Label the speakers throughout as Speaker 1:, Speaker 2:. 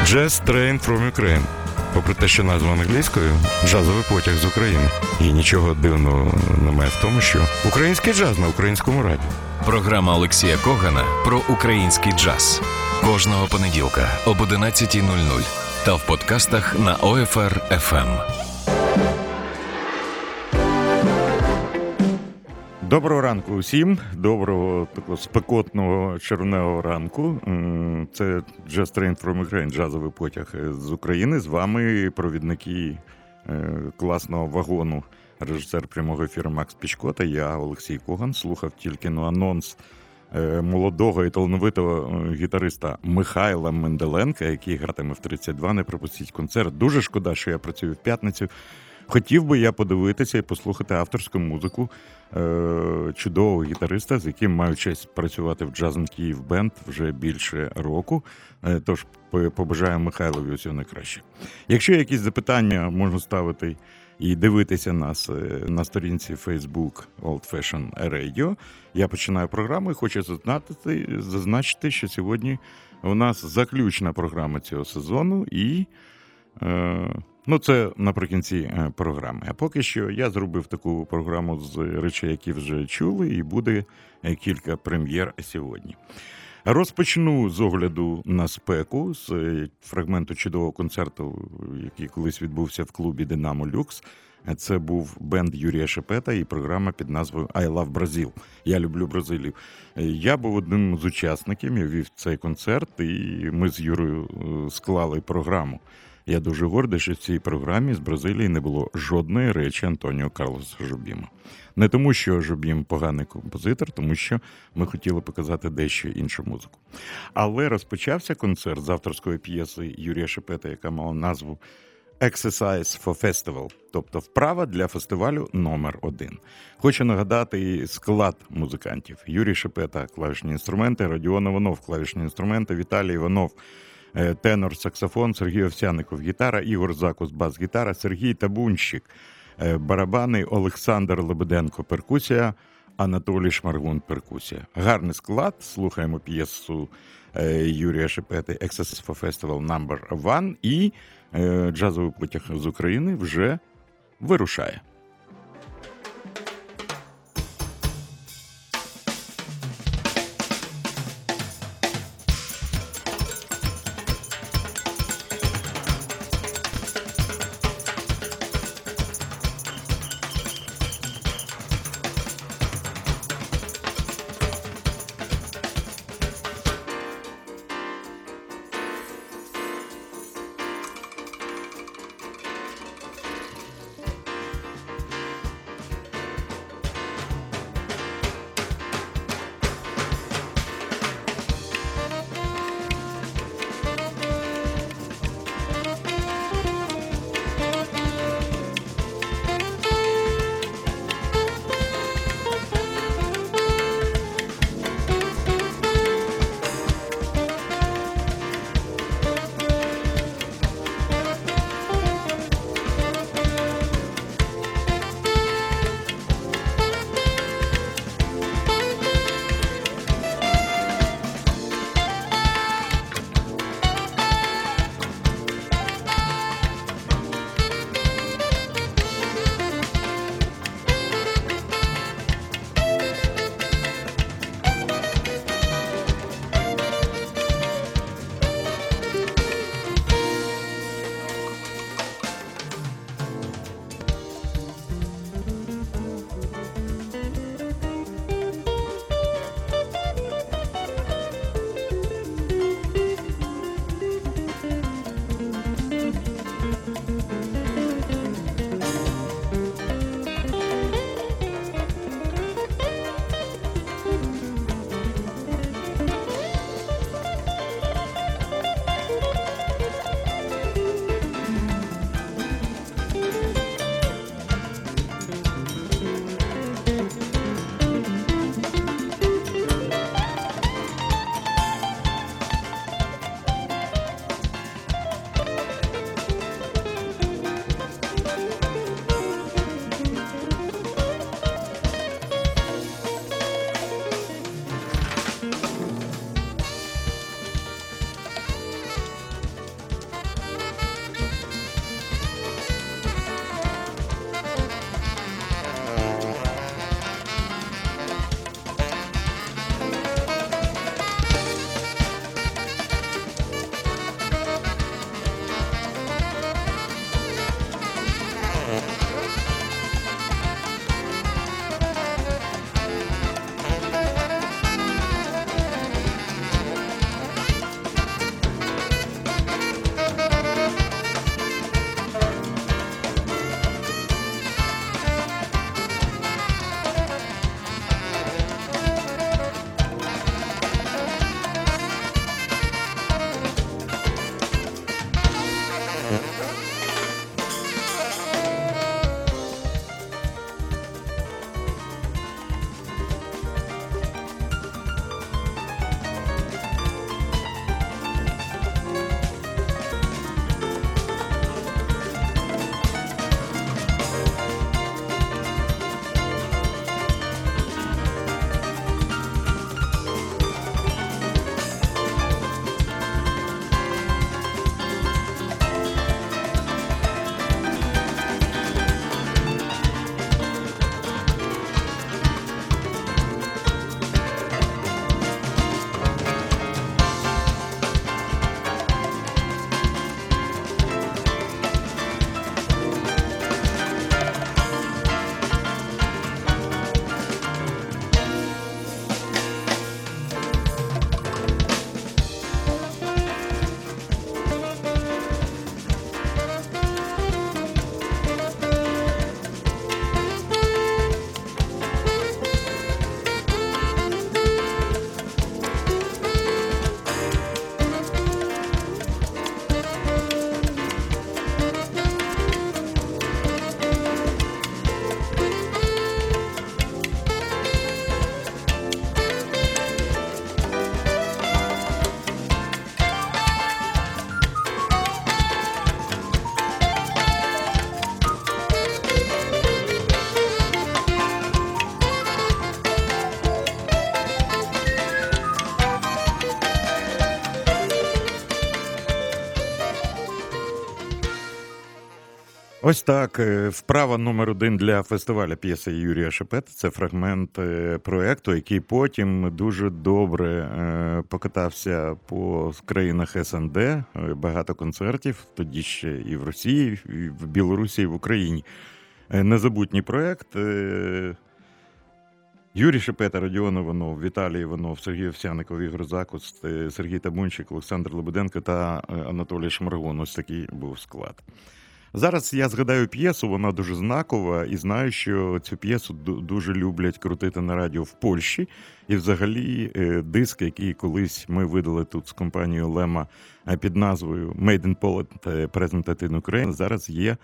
Speaker 1: Jazz Train from Ukraine. Попри те, що назва англійською, джазовий потяг з України. І нічого дивного немає в тому, що український джаз на українському радіо.
Speaker 2: Програма Олексія Когана про український джаз. Кожного понеділка об 11:00 та в подкастах на ОФР FM.
Speaker 1: Доброго ранку усім, доброго такого спекотного червневого ранку. Це Jazz Train from Ukraine, джазовий потяг з України. З вами провідники класного вагону, режисер прямого ефіру Макс Пічко та я, Олексій Коган. Слухав тільки анонс молодого і талановитого гітариста Михайла Менделенка, який гратиме в 32. Не пропустіть концерт. Дуже шкода, що я працюю в п'ятницю. Хотів би я подивитися і послухати авторську музику чудового гітариста, з яким маю честь працювати в Jazz & Kyiv Band вже більше року. Тож побажаю Михайлові усього найкраще. Якщо є якісь запитання, можна ставити і дивитися нас на сторінці Facebook Old Fashion Radio. Я починаю програму і хочу зазначити, що сьогодні у нас заключна програма цього сезону і... це наприкінці програми. А поки що я зробив таку програму з речей, які вже чули, і буде кілька прем'єр сьогодні. Розпочну з огляду на спеку, з фрагменту чудового концерту, який колись відбувся в клубі «Динамо Люкс». Це був бенд Юрія Шепета і програма під назвою «I Love Brazil». Я люблю Бразилію. Я був одним з учасників, я вів цей концерт, і ми з Юрою склали програму. Я дуже гордий, що в цій програмі з Бразилії не було жодної речі Антоніо Карлоса Жобіма. Не тому, що Жобім поганий композитор, тому що ми хотіли показати дещо іншу музику. Але розпочався концерт з авторської п'єси Юрія Шепета, яка мала назву «Exercise for Festival», тобто «Вправа для фестивалю номер 1». Хочу нагадати склад музикантів. Юрій Шепета – клавішні інструменти, Родіон Іванов – клавішні інструменти, Віталій Іванов – тенор, саксофон, Сергій Овсяников – гітара, Ігор Закус – бас-гітара, Сергій Табунщик – барабани, Олександр Лебеденко – перкусія, Анатолій Шмаргун – перкусія. Гарний склад. Слухаємо п'єсу Юрія Шепети «Exercise for Festival No. 1» і джазовий потяг з України вже вирушає. Ось так. Вправа номер 1 для фестивалю п'єси Юрія Шепети. Це фрагмент проєкту, який потім дуже добре покатався по країнах СНД. Багато концертів, тоді ще і в Росії, і в Білорусі, і в Україні. Незабутній проєкт. Юрій Шепета, Родіон Іванов, Віталій Іванов, Сергій Овсяников, Ігор Закуст, Сергій Табунчик, Олександр Лебеденко та Анатолій Шмаргун. Ось такий був склад. Зараз я згадаю п'єсу, вона дуже знакова, і знаю, що цю п'єсу дуже люблять крутити на радіо в Польщі. І взагалі диск, який колись ми видали тут з компанією Лема під назвою Made in Poland Presented in Ukraine, зараз є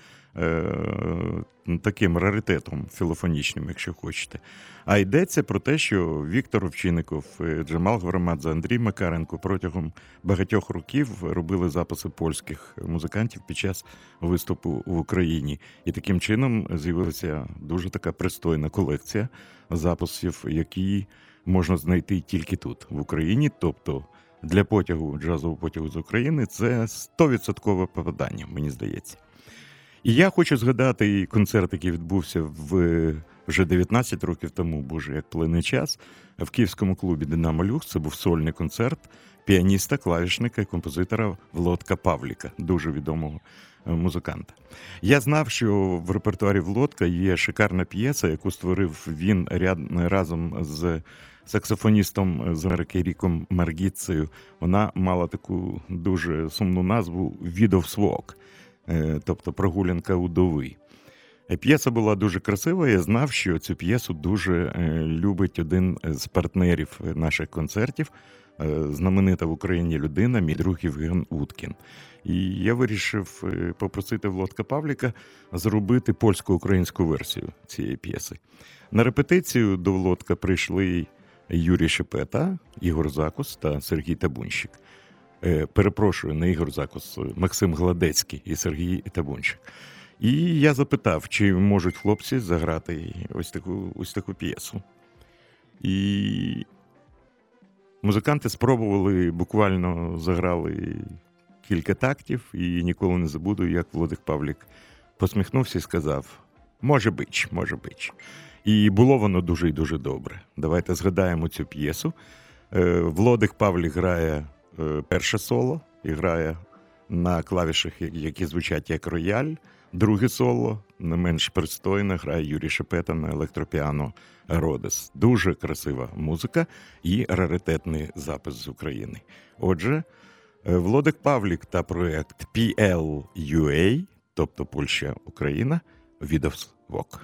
Speaker 1: таким раритетом філофонічним, якщо хочете. А йдеться про те, що Віктор Овчинников, Джамал Гварамадзе, Андрій Макаренко протягом багатьох років робили записи польських музикантів під час виступу в Україні. І таким чином з'явилася дуже така пристойна колекція записів, які можна знайти тільки тут, в Україні. Тобто для потягу, джазового потягу з України це 100% попадання, мені здається. І я хочу згадати концерт, який відбувся вже 19 років тому, боже, як плине час, в київському клубі «Динамо Люкс». Це був сольний концерт піаніста, клавішника і композитора Володка Павліка, дуже відомого музиканта. Я знав, що в репертуарі Володка є шикарна п'єса, яку створив він разом з саксофоністом з Америки Ріком Маргіцею. Вона мала таку дуже сумну назву «Widow's Walk», тобто «Прогулянка удови». П'єса була дуже красива, я знав, що цю п'єсу дуже любить один з партнерів наших концертів, знаменита в Україні людина, мій друг Євген Уткін. І я вирішив попросити Володка Павліка зробити польсько-українську версію цієї п'єси. На репетицію до Володка прийшли Юрій Шепета, Ігор Закус та Сергій Табунчик. Перепрошую, не Ігор Закус, Максим Гладецький і Сергій Табунчик. І я запитав, чи можуть хлопці заграти ось таку п'єсу. І музиканти спробували, буквально заграли кілька тактів, і ніколи не забуду, як Володик Павлік посміхнувся і сказав: «Може бич, може бич». І було воно дуже і дуже добре. Давайте згадаємо цю п'єсу. Володик Павлік грає перше соло і грає на клавішах, які звучать як рояль. Друге соло, не менш пристойне, грає Юрій Шепета на електропіано «Родес». Дуже красива музика і раритетний запис з України. Отже, Володик Павлік та проєкт PLUA, тобто Польща-Україна, «Widow's Walk».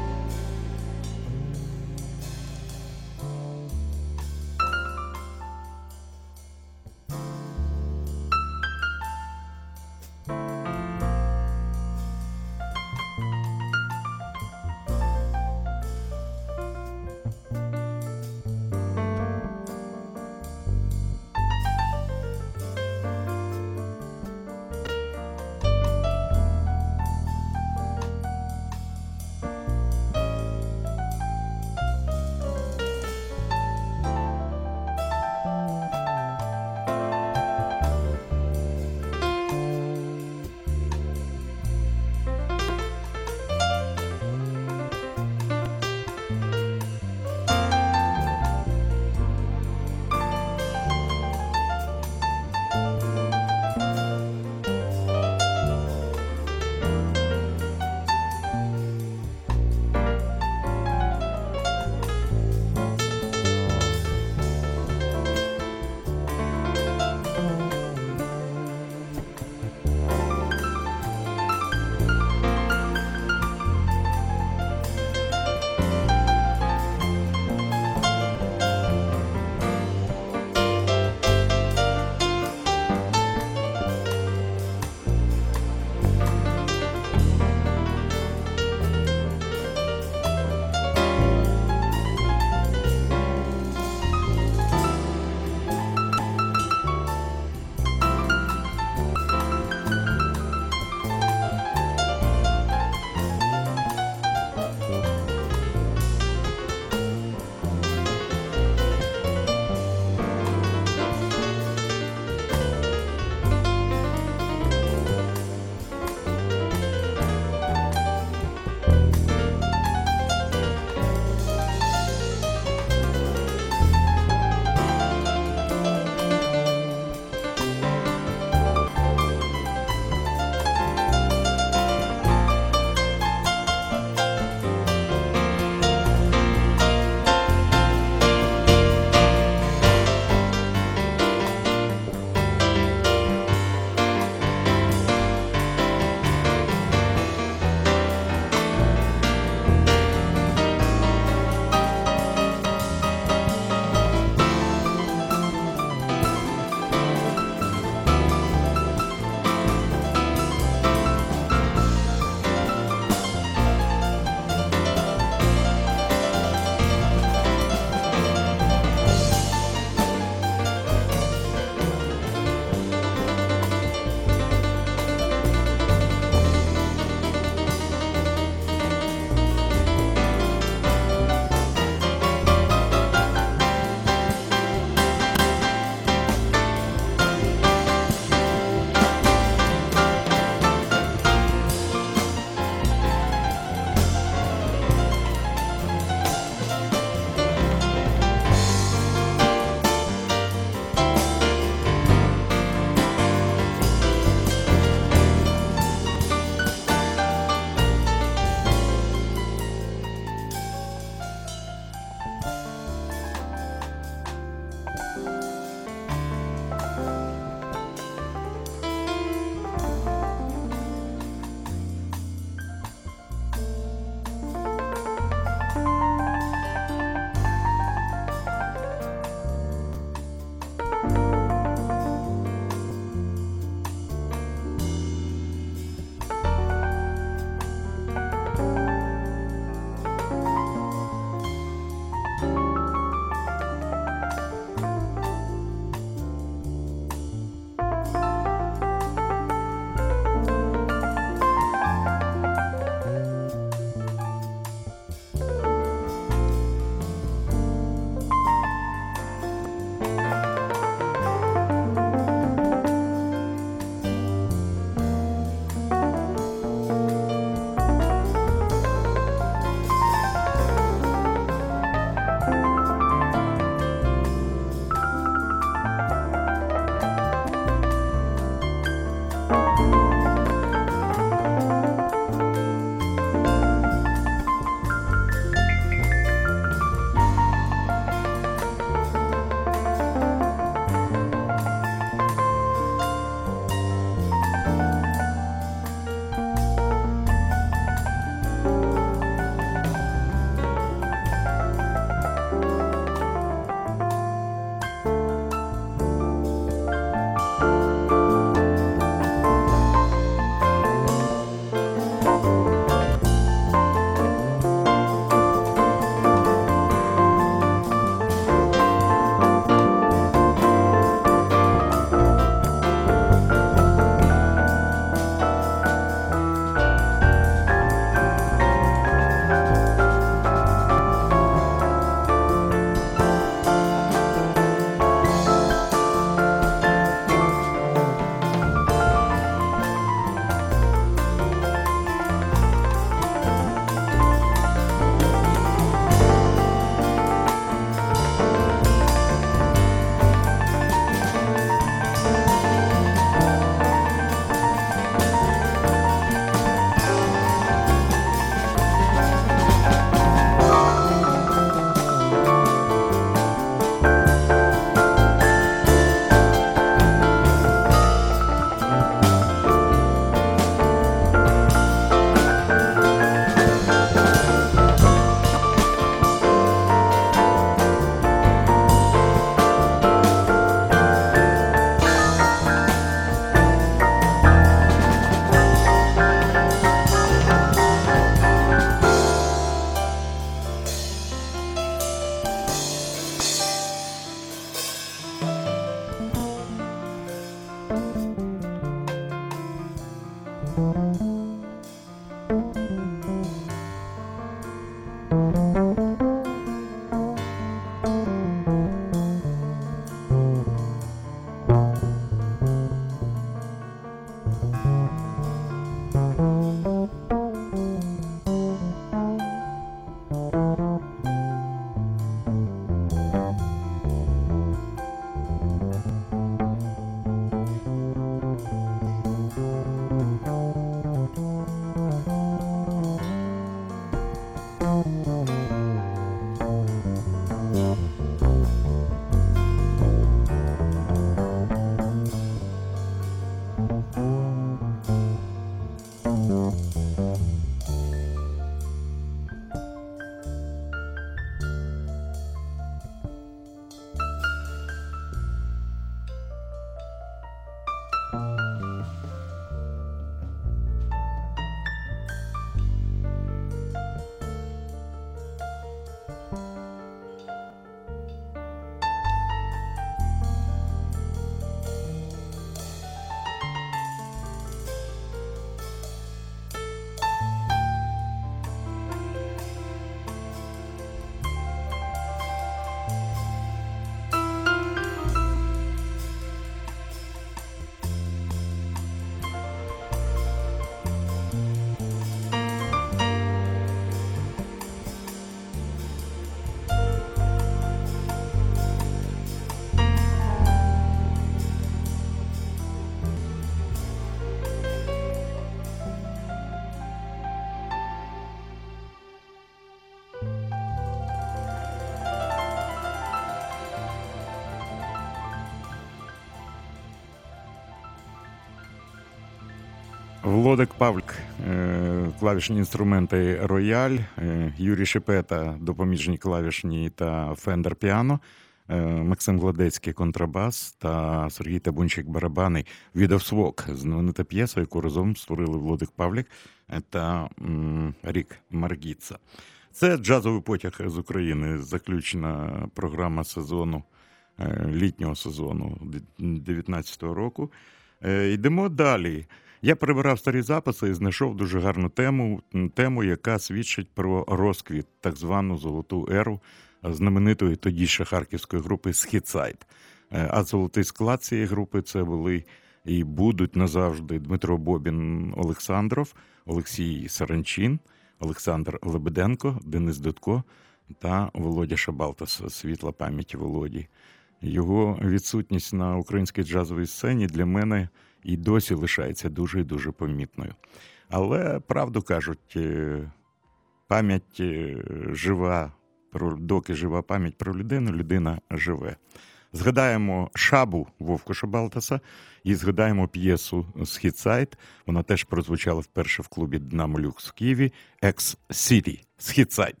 Speaker 1: Володик Павлік, клавішні інструменти рояль, Юрій Шепета, допоміжні клавішні та Фендер піано, Максим Гладецький контрабас та Сергій Табунчик барабани. «Від of Swag», знаменита п'єса, яку разом створили Володик Павлік та Рік Маргіца. Це «Джазовий потяг з України», заключна програма сезону, літнього сезону 2019 року. Йдемо далі. Я перебирав старі записи і знайшов дуже гарну тему, яка свідчить про розквіт, так звану золоту еру знаменитої тоді ще харківської групи «Східсайд». А золотий склад цієї групи це були і будуть назавжди Дмитро Бобін Олександров, Олексій Саранчин, Олександр Лебеденко, Денис Дудко та Володя Шабалтас. Світла пам'ять Володі. Його відсутність на українській джазовій сцені для мене і досі лишається дуже і дуже помітною. Але, правду кажуть, пам'ять жива, доки жива пам'ять про людину, людина живе. Згадаємо Шабу Вовку Шабалтаса і згадаємо п'єсу «Східсайд». Вона теж прозвучала вперше в клубі «Динамо Люкс» в Києві. «Екс-Сіті». «Східсайд».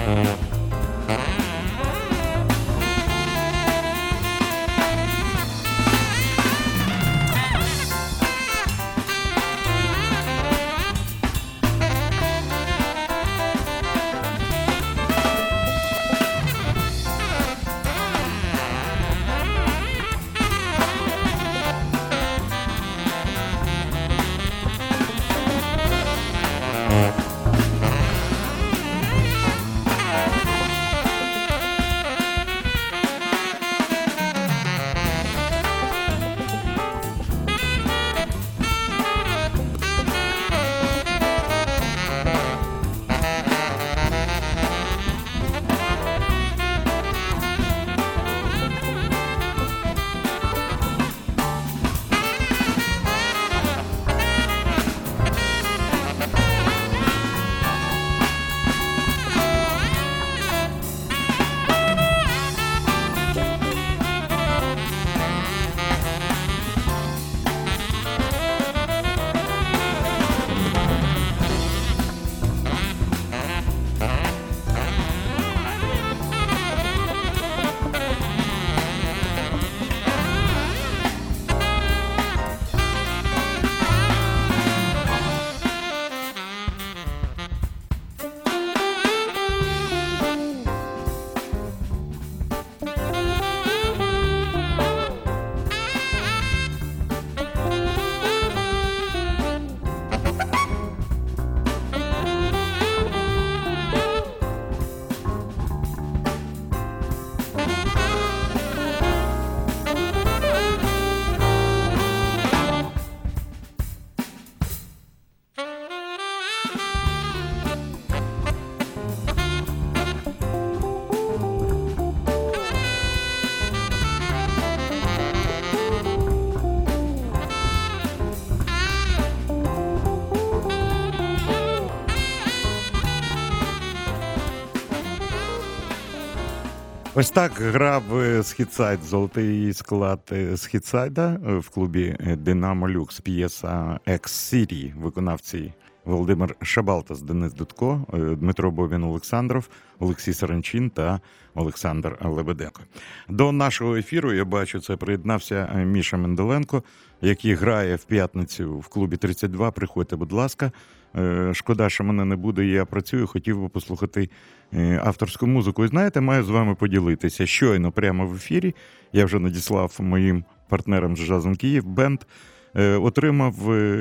Speaker 1: Ось так грав Східсайд, золотий склад Східсайда в клубі «Динамо Люкс», п'єса «Екс-Сірі», виконавці Володимир Шабалтас, Денис Дудко, Дмитро Бобін-Олександров, Олексій Саранчин та Олександр Лебеденко. До нашого ефіру, я бачу, це приєднався Міша Менделенко, який грає в п'ятницю в клубі 32. Приходьте, будь ласка. Шкода, що мене не буде, я працюю, хотів би послухати авторську музику. І знаєте, маю з вами поділитися. Щойно прямо в ефірі, я вже надіслав моїм партнерам з «Джазом Київ» бенд, отримав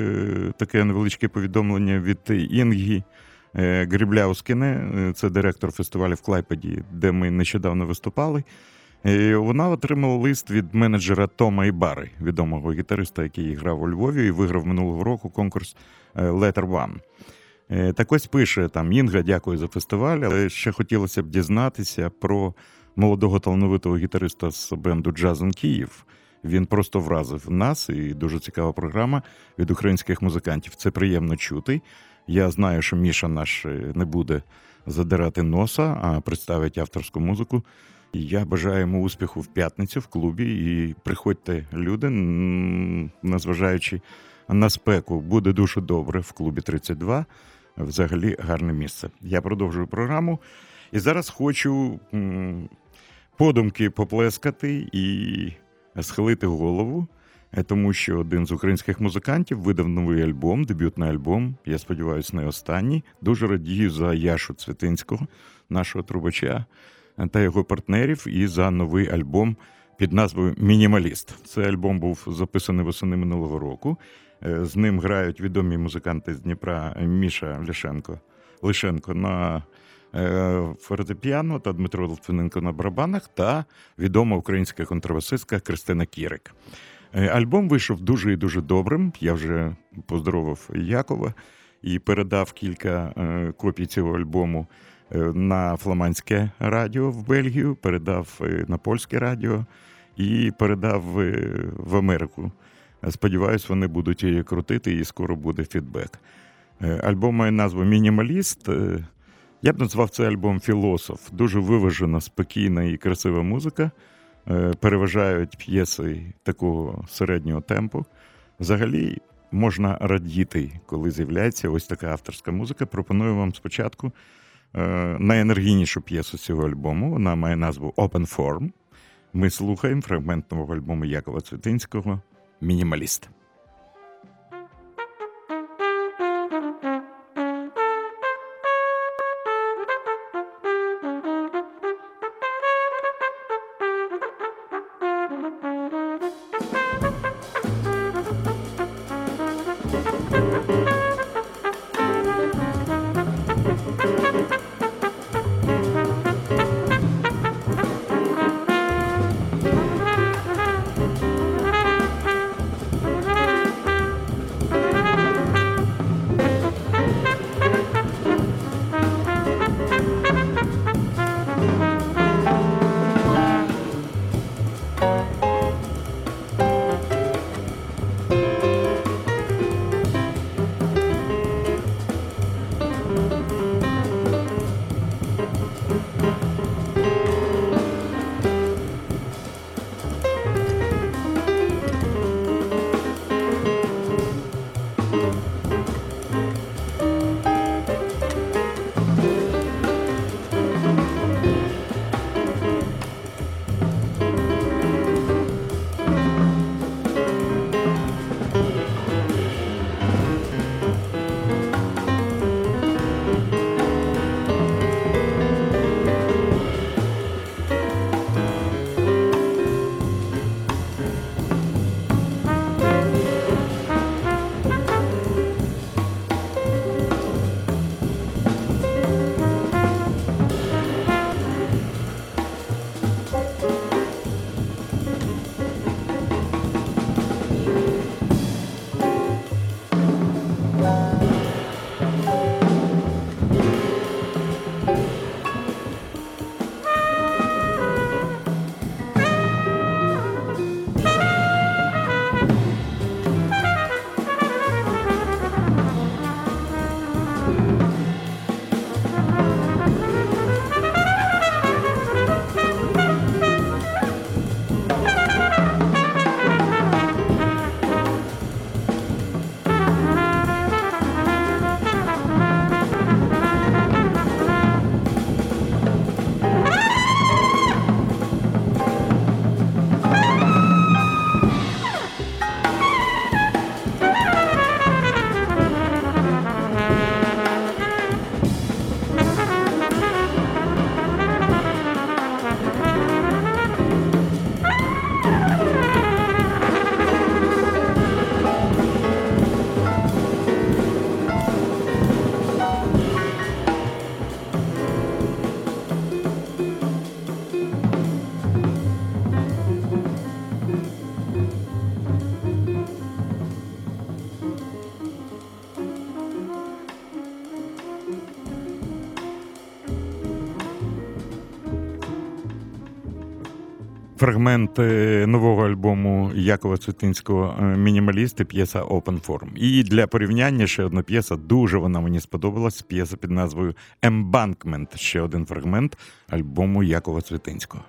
Speaker 1: таке невеличке повідомлення від Інги Грібляускіне, це директор фестивалю в Клайпеді, де ми нещодавно виступали. Вона отримала лист від менеджера Тома Ібари, відомого гітариста, який грав у Львові і виграв минулого року конкурс Letter One. Так ось пише там: Інга, дякую за фестиваль, але ще хотілося б дізнатися про молодого талановитого гітариста з бенду «Джазом Київ». Він просто вразив нас, і дуже цікава програма від українських музикантів. Це приємно чути. Я знаю, що Міша наш не буде задирати носа, а представить авторську музику. І я бажаю йому успіху в п'ятницю в клубі. І приходьте, люди, незважаючи на спеку, буде дуже добре в клубі 32. Взагалі гарне місце. Я продовжую програму. І зараз хочу подумки поплескати і схилити голову, тому що один з українських музикантів видав новий альбом, дебютний альбом, я сподіваюся, не останній. Дуже радію за Яшу Цвітинського, нашого трубача, та його партнерів, і за новий альбом під назвою «Мінімаліст». Цей альбом був записаний восени минулого року. З ним грають відомі музиканти з Дніпра Міша Лишенко на фортепіано та Дмитро Литвиненко на барабанах та відома українська контрабасистка Кристина Кірик. Альбом вийшов дуже і дуже добрим. Я вже поздоровив Якова і передав кілька копій цього альбому на фламандське радіо в Бельгію, передав на польське радіо і передав в Америку. Сподіваюсь, вони будуть її крутити і скоро буде фідбек. Альбом має назву «Мінімаліст». Я б назвав цей альбом «Філософ». Дуже виважена, спокійна і красива музика. Переважають п'єси такого середнього темпу. Взагалі можна радіти, коли з'являється ось така авторська музика. Пропоную вам спочатку найенергійнішу п'єсу цього альбому. Вона має назву «Open Form». Ми слухаємо фрагмент нового альбому Якова Цвітинського «Мінімаліст». Фрагмент нового альбому Якова Цвітинського «Мінімалісти», п'єса «Open Form». І для порівняння ще одна п'єса, дуже вона мені сподобалась, п'єса під назвою «Embankment», ще один фрагмент альбому Якова Цвітинського.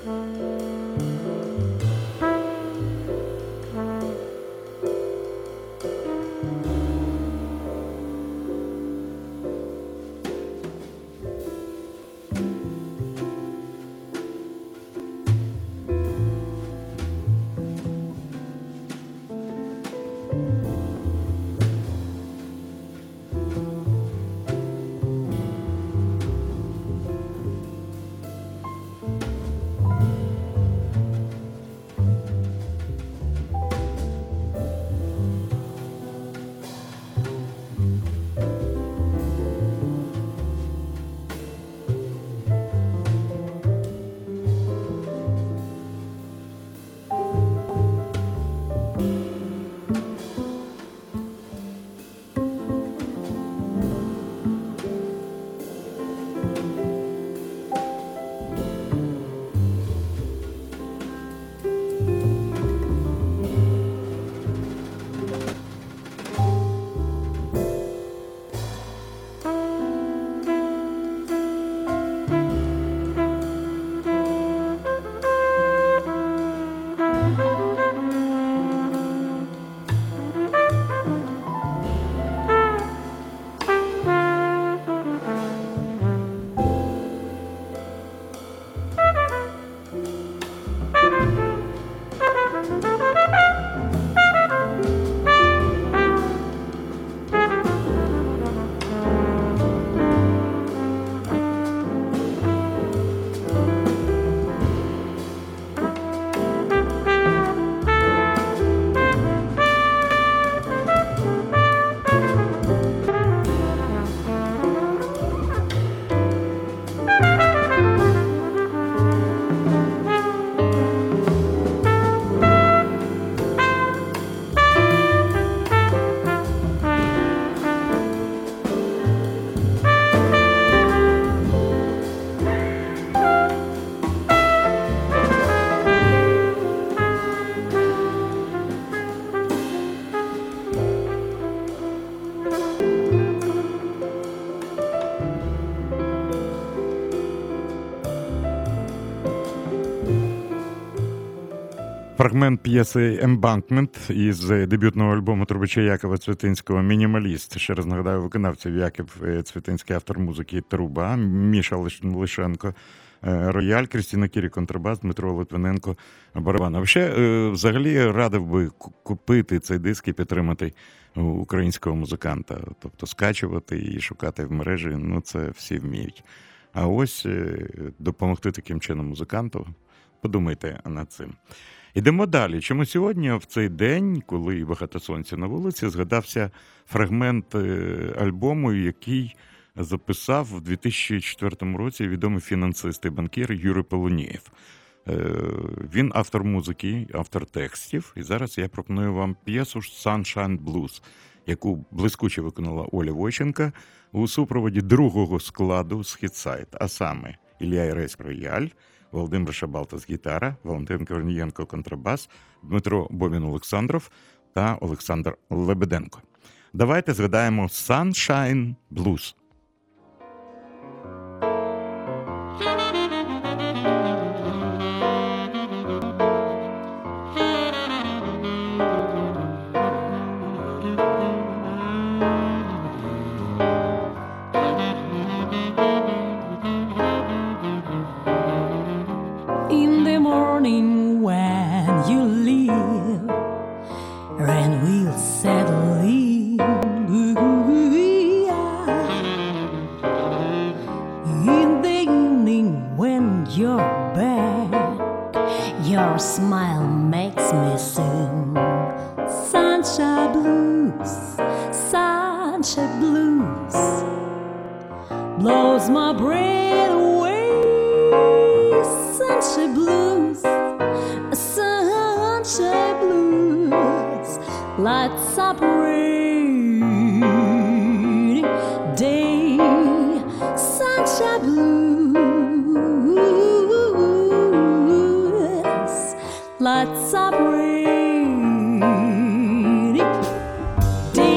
Speaker 1: Фрагмент п'єси «Ембанкмент» із дебютного альбому трубача Якова Цвітинського «Мінімаліст». Ще раз нагадаю, виконавців Яків Цвітинський, автор музики «Труба», Міша Лишенко рояль, Крістіна Кірі контрабас, Дмитро Литвиненко барабан. Взагалі радив би купити цей диск і підтримати українського музиканта. Тобто скачувати і шукати в мережі, ну це всі вміють. А ось допомогти таким чином музиканту, подумайте над цим. Ідемо далі. Чому сьогодні, в цей день, коли багато сонця на вулиці, згадався фрагмент альбому, який записав в 2004 році відомий фінансист і банкір Юрій Полунієв. Він автор музики, автор текстів. І зараз я пропоную вам п'єсу «Sunshine Blues», яку блискуче виконала Оля Войченка у супроводі другого складу «Східсайд», а саме Ілля Ірець рояль, Володимир Шабалтас гітара, Валентин Корнієнко контрабас, Дмитро Бомін-Олександров та Олександр Лебеденко. Давайте згадаємо «Sunshine Blues».
Speaker 3: Your smile makes me sing sunshine blues, sunshine blues, blows my brain away. Sunshine blues, sunshine blues, lights up rainy day. Sunshine blues, lights up rainy day.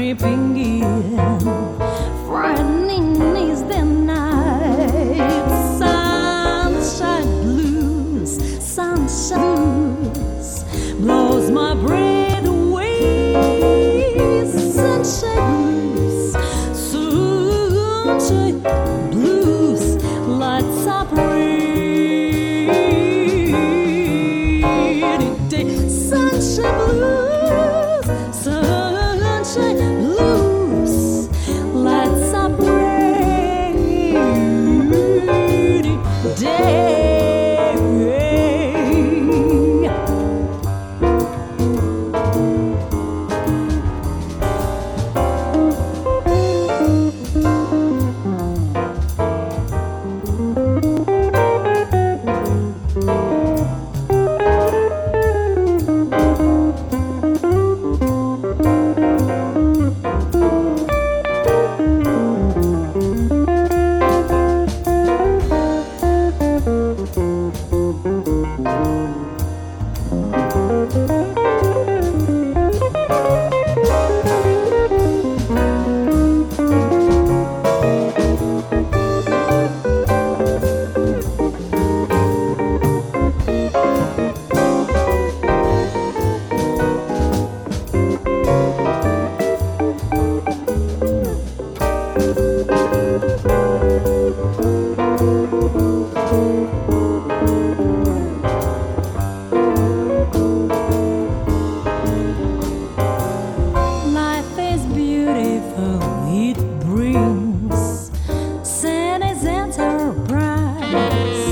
Speaker 3: creeping in. Frightening is the night. Sunshine blues, sunshine blues, blows my breath away. Sunshine blues, sunshine blues, lights up rainy day. Sunshine blues, sunshine blues, lights up rainy day. Life is beautiful, it brings sin is enterprise.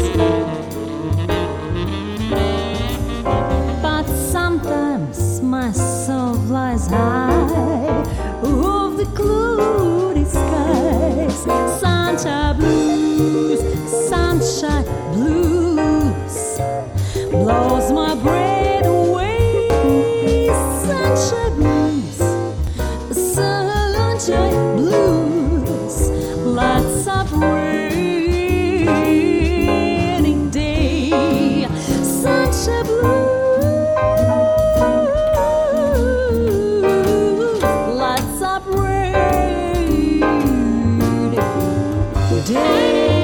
Speaker 3: But sometimes my soul flies high over the cloudy skies. Sunshine blues, sunshine blues, blows my breath away. Sunshine blues, sunshine blues, lights up rainy day. Sunshine blues, lights up rainy day.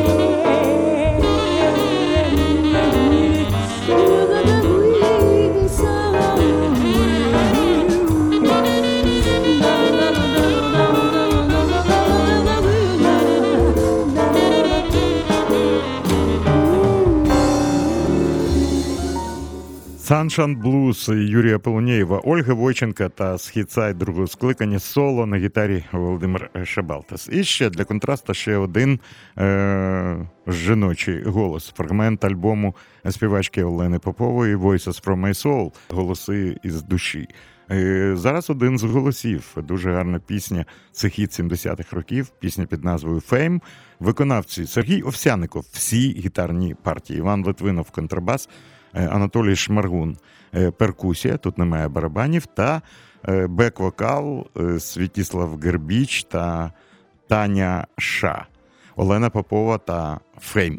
Speaker 1: Sunshine Blues Юрія Полонєєва, Ольги Войченка та Східсайд другого скликання соло на гітарі Володимир Шабалтас. І ще для контрасту ще один жіночий голос. Фрагмент альбому співачки Олени Попової «Voices from my soul» – «Голоси із душі». Зараз один з голосів. Дуже гарна пісня. Це хіт 70-х років. Пісня під назвою «Fame». Виконавці Сергій Овсяников. Всі гітарні партії. Іван Литвинов – контрабас. Анатолій Шмаргун – перкусія, тут немає барабанів, та бек-вокал Святіслав Гербіч та Таня Ша, Олена Попова та Фейм.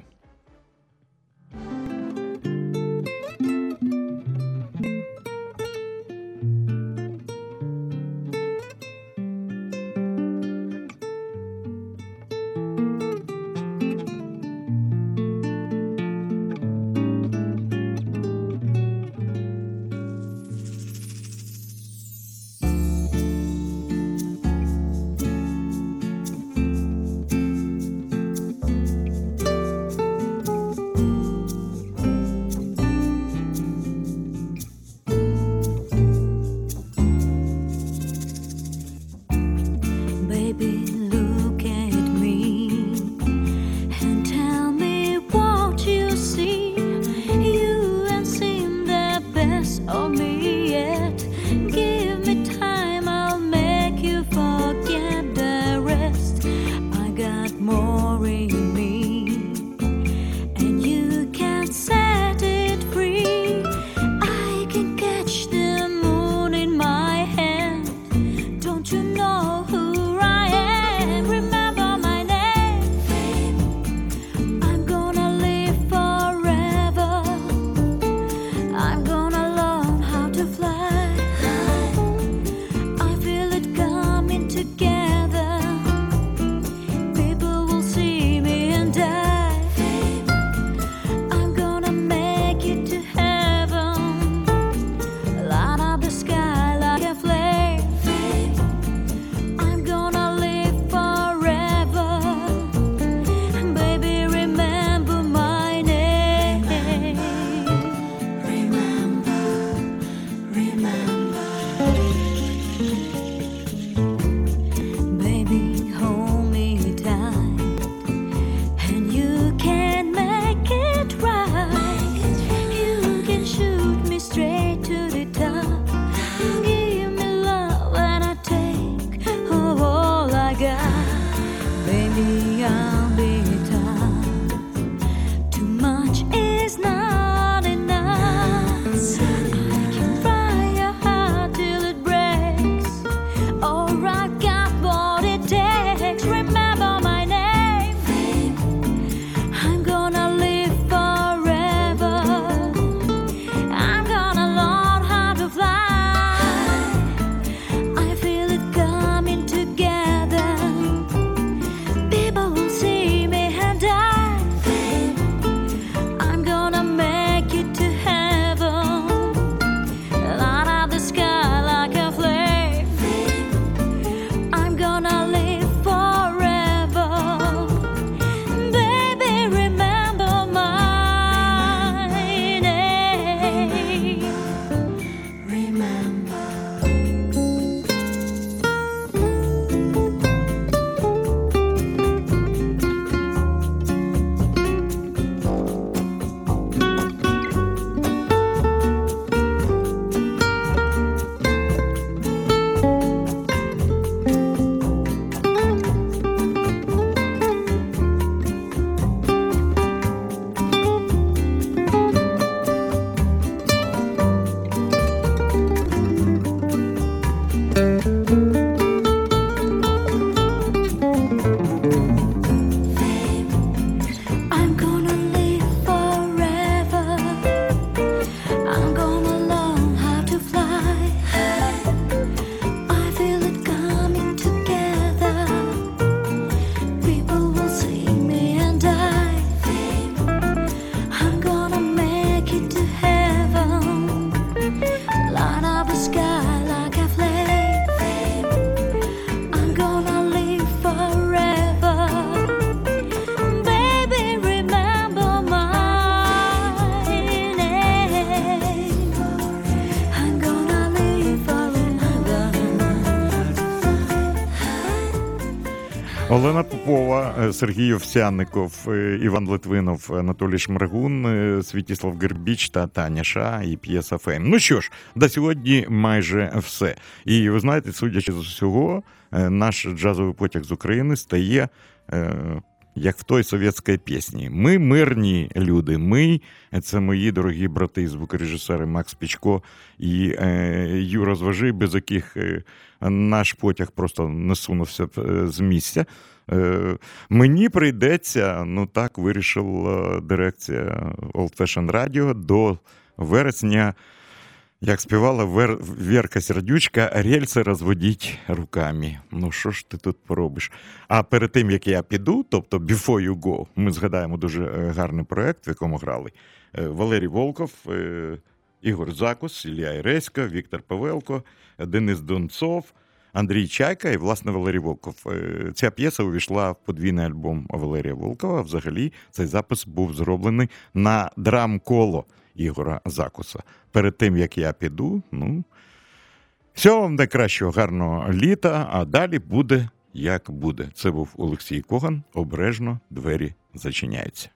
Speaker 1: Олена Попова, Сергій Овсянников, Іван Литвинов, Анатолій Шмаргун, Святіслав Гербіч та Таня Ша і п'єса «Фейм». Ну що ж, до сьогодні майже все. І ви знаєте, судячи з усього, наш джазовий потяг з України стає як в той совєтській пісні. Ми мирні люди. Ми – це мої дорогі брати, звукорежисери Макс Пічко і Юра Зважий, без яких наш потяг просто не сунувся з місця. Мені прийдеться, ну так вирішила дирекція Old Fashion Radio, до вересня, як співала Вірка Сердючка, рельси розводіть руками. Ну що ж ти тут поробиш? А перед тим, як я піду, тобто Before You Go, ми згадаємо дуже гарний проєкт, в якому грали Валерій Волков, Ігор Закус, Ілля Іресько, Віктор Павелко, Денис Донцов, Андрій Чайка і, власне, Валерій Волков. Ця п'єса увійшла в подвійний альбом Валерія Волкова. Взагалі, цей запис був зроблений на драм-коло Ігора Закуса. Перед тим, як я піду, всього вам найкращого, гарного літа, а далі буде, як буде. Це був Олексій Коган. Обережно двері зачиняються.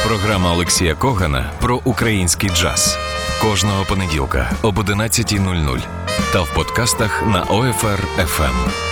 Speaker 2: Програма Олексія Когана про український джаз. Кожного понеділка об 11:00 та в подкастах на OFR FM.